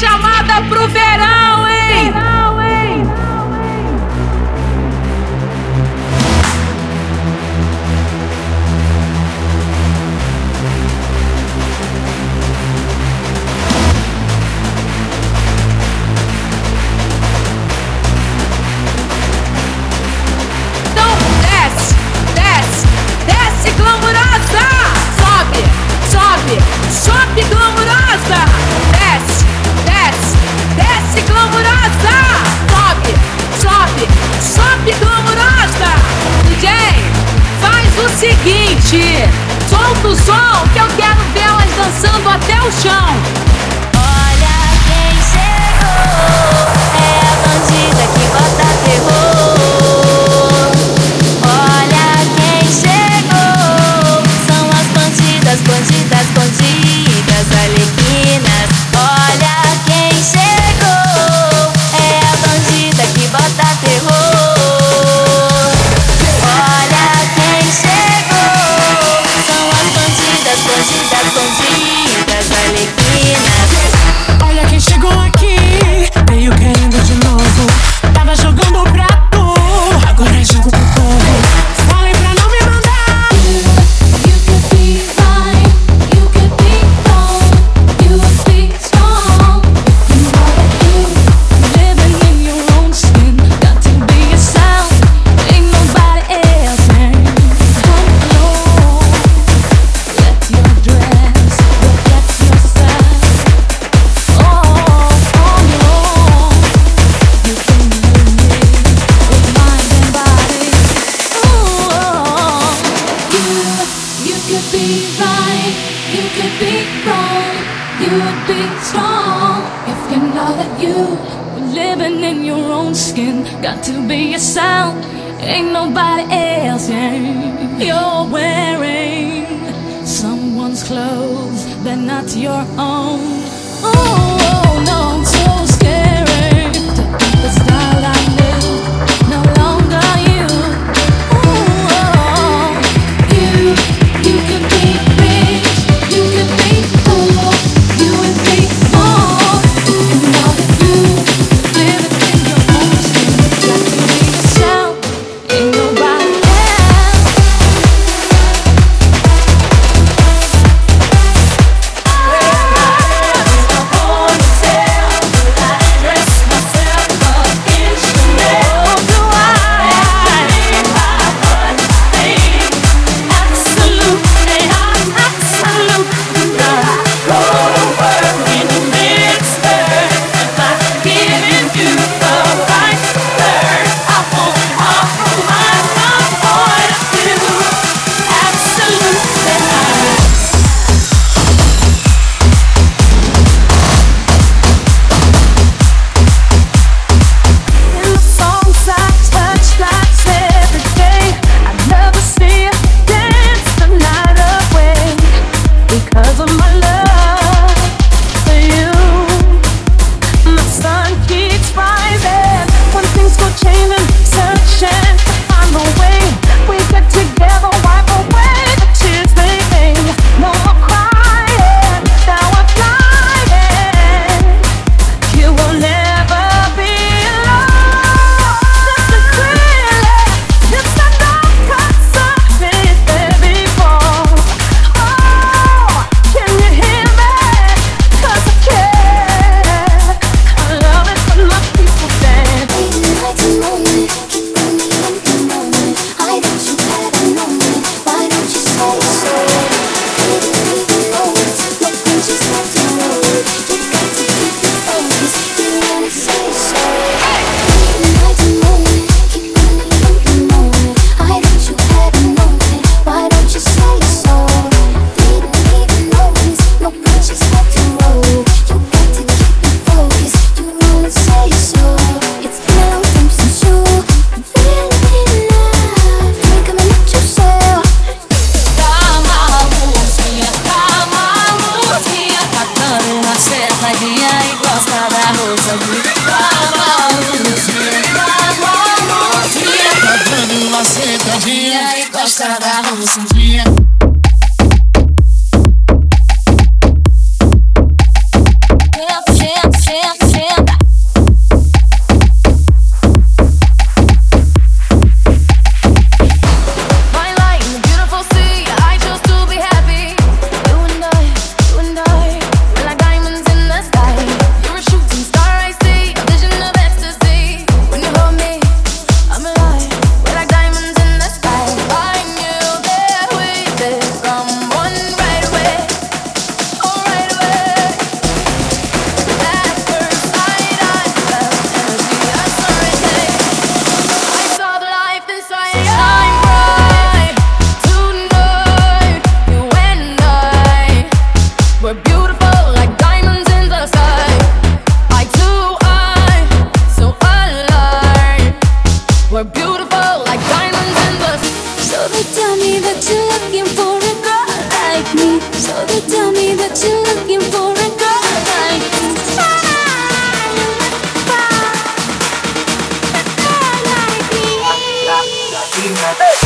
chamada pro verão, hein? Então desce, desce, desce glamurosa. Sobe, sobe, sobe glamurosa. Desce, desce, desce glamurosa. Sobe, sobe, sobe glamurosa. DJ, faz o seguinte, solta o som que eu quero vê-las dançando até o chão. Olha quem chegou, é a bandida que bota terror. Olha quem chegou, são as bandidas, bandidas, bandidas, arlequinas. Olha quem chegou, é a bandida que bota terror. Olha quem chegou, são as bandidas, bandidas, bandidas, arlequinas. Olha quem chegou aqui, veio querendo de novo. Tava jogando o prato, agora é jogo pro povo. Falei pra não me mandar. You could be fine, you could be wrong, you would be strong. You know that you living in your own skin, got to be yourself, ain't nobody else. Come along, let your dress reflect yourself. On your own, you can live with mind and body. You could be right, you could be wrong, you would be strong if you know that you were living in your own skin. Got to be yourself, ain't nobody else. You're wearing someone's clothes, they're not your own. Oh no, I'm so scary to think the style I knew no longer you. You could be rich, you could be poor, you would be more. And now that you live in your own skin, got to be yourself, ain't nobody else. gosta da roçadinha. they tell me that you're looking for a girl like me. So they tell me that you're looking for a girl like me. A girl like me.